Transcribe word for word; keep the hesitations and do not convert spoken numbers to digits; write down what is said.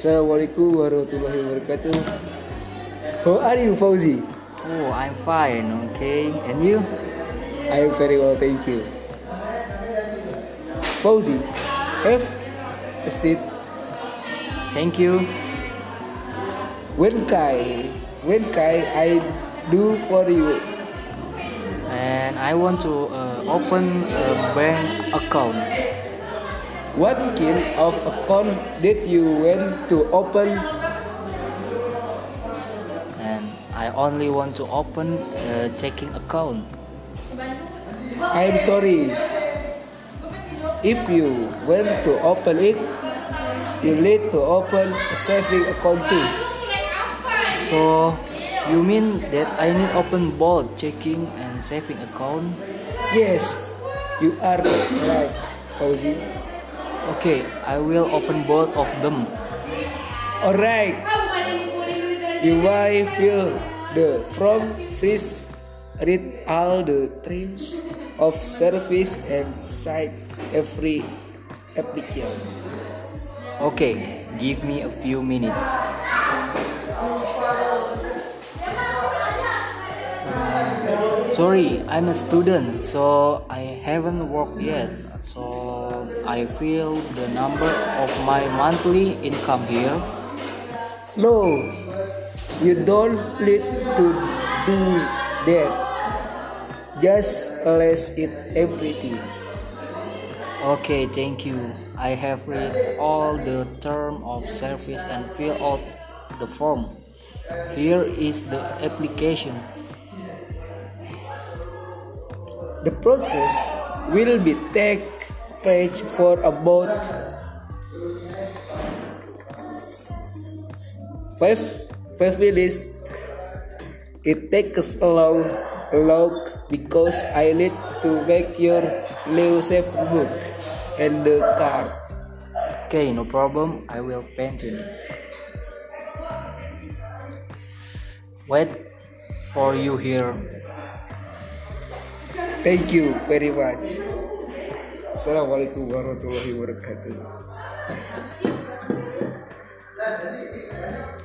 Assalamualaikum warahmatullahi wabarakatuh. How are you, Fauzi? Oh, I'm fine, okay. And you? I am very well, thank you. Fauzi, have a seat. Thank you. When can when can I do for you? And I want to uh, open a bank account. What kind of account did you want to open? And I only want to open a checking account. I'm sorry. If you want to open it, you need to open a saving account too. So, you mean that I need open both checking and saving account? Yes, you are right, Fauzi. Okay, I will open both of them. Alright. You might feel the from freeze read all the terms of service and cite every application. Okay, give me a few minutes. Uh, sorry, I'm a student, so I haven't worked yet. So I fill the number of my monthly income here. No, you don't need to do that. Just list it everything. Okay, thank you. I have read all the terms of service and fill out the form. Here is the application. The process will be take place for about five five minutes. It takes a long long because I need to make your new safe book and the card. Okay, no problem. I will paint it. Wait for you here. Thank you very much. Assalamualaikum warahmatullahi wabarakatuh.